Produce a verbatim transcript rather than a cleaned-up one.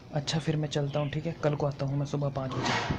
अच्छा फिर मैं चलता हूँ, ठीक है, कल को आता हूँ मैं सुबह पाँच बजे।